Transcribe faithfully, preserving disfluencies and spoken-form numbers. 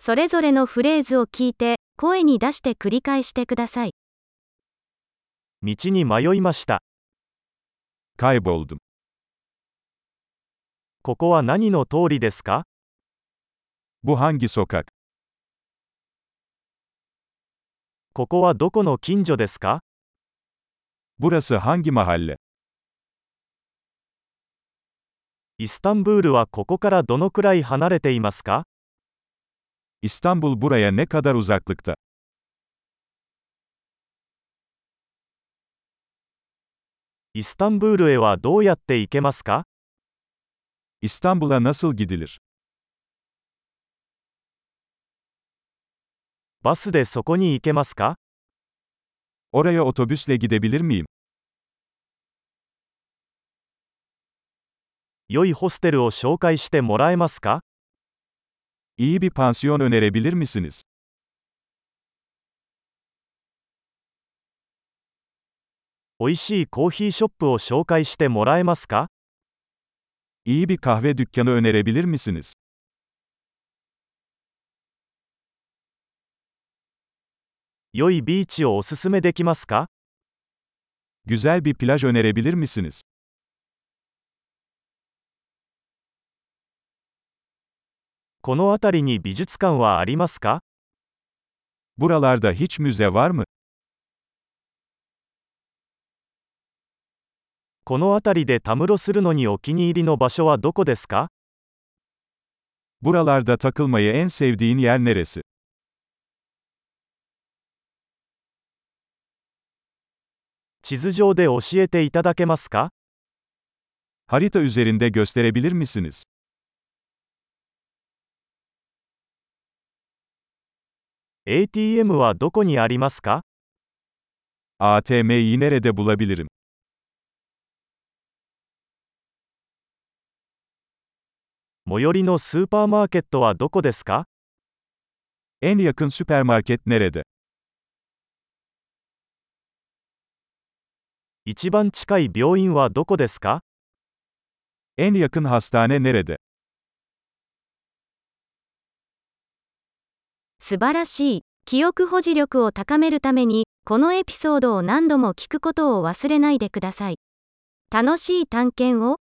それぞれのフレーズを聞いて、声に出して繰り返してください。 道に迷いました。 Kayboldum. ここは何の通りですか？ Bu hangi sokak? ここはどこの近所ですか？ Burası hangi mahalle? イスタンブールはここからどのくらい離れていますか？ İstanbul buraya ne kadar uzaklıkta? イスタンブールへはどうやって行けますか？ İstanbul'a nasıl gidilir? バスでそこに行けますか？ Oraya otobüsle gidebilir miyim? 良いホステルを紹介してもらえますか？ İyi bir pansiyon önerebilir misiniz? おいしいコーヒーショップを紹介してもらえますか？ İyi bir kahve dükkanı önerebilir misiniz? 良いビーチをおすすめできますか？ Güzel bir plaj önerebilir misiniz? この辺りに美術館はありますか？ Buralarda hiç müze var mı? この辺りでたむろするのにお気に入りの場所はどこですか？ Buralarda takılmayı en sevdiğin yer neresi? 地図上で教えていただけますか？ Harita üzerinde gösterebilir misiniz? エーティーエム はどこにありますか？ A T M'yi nerede bulabilirim? 最寄りのスーパーマーケットはどこですか？ En yakın süpermarket nerede? 一番近い病院はどこですか？ En yakın hastane nerede? 素晴らしい。記憶保持力を高めるために、このエピソードを何度も聞くことを忘れないでください。楽しい探検を。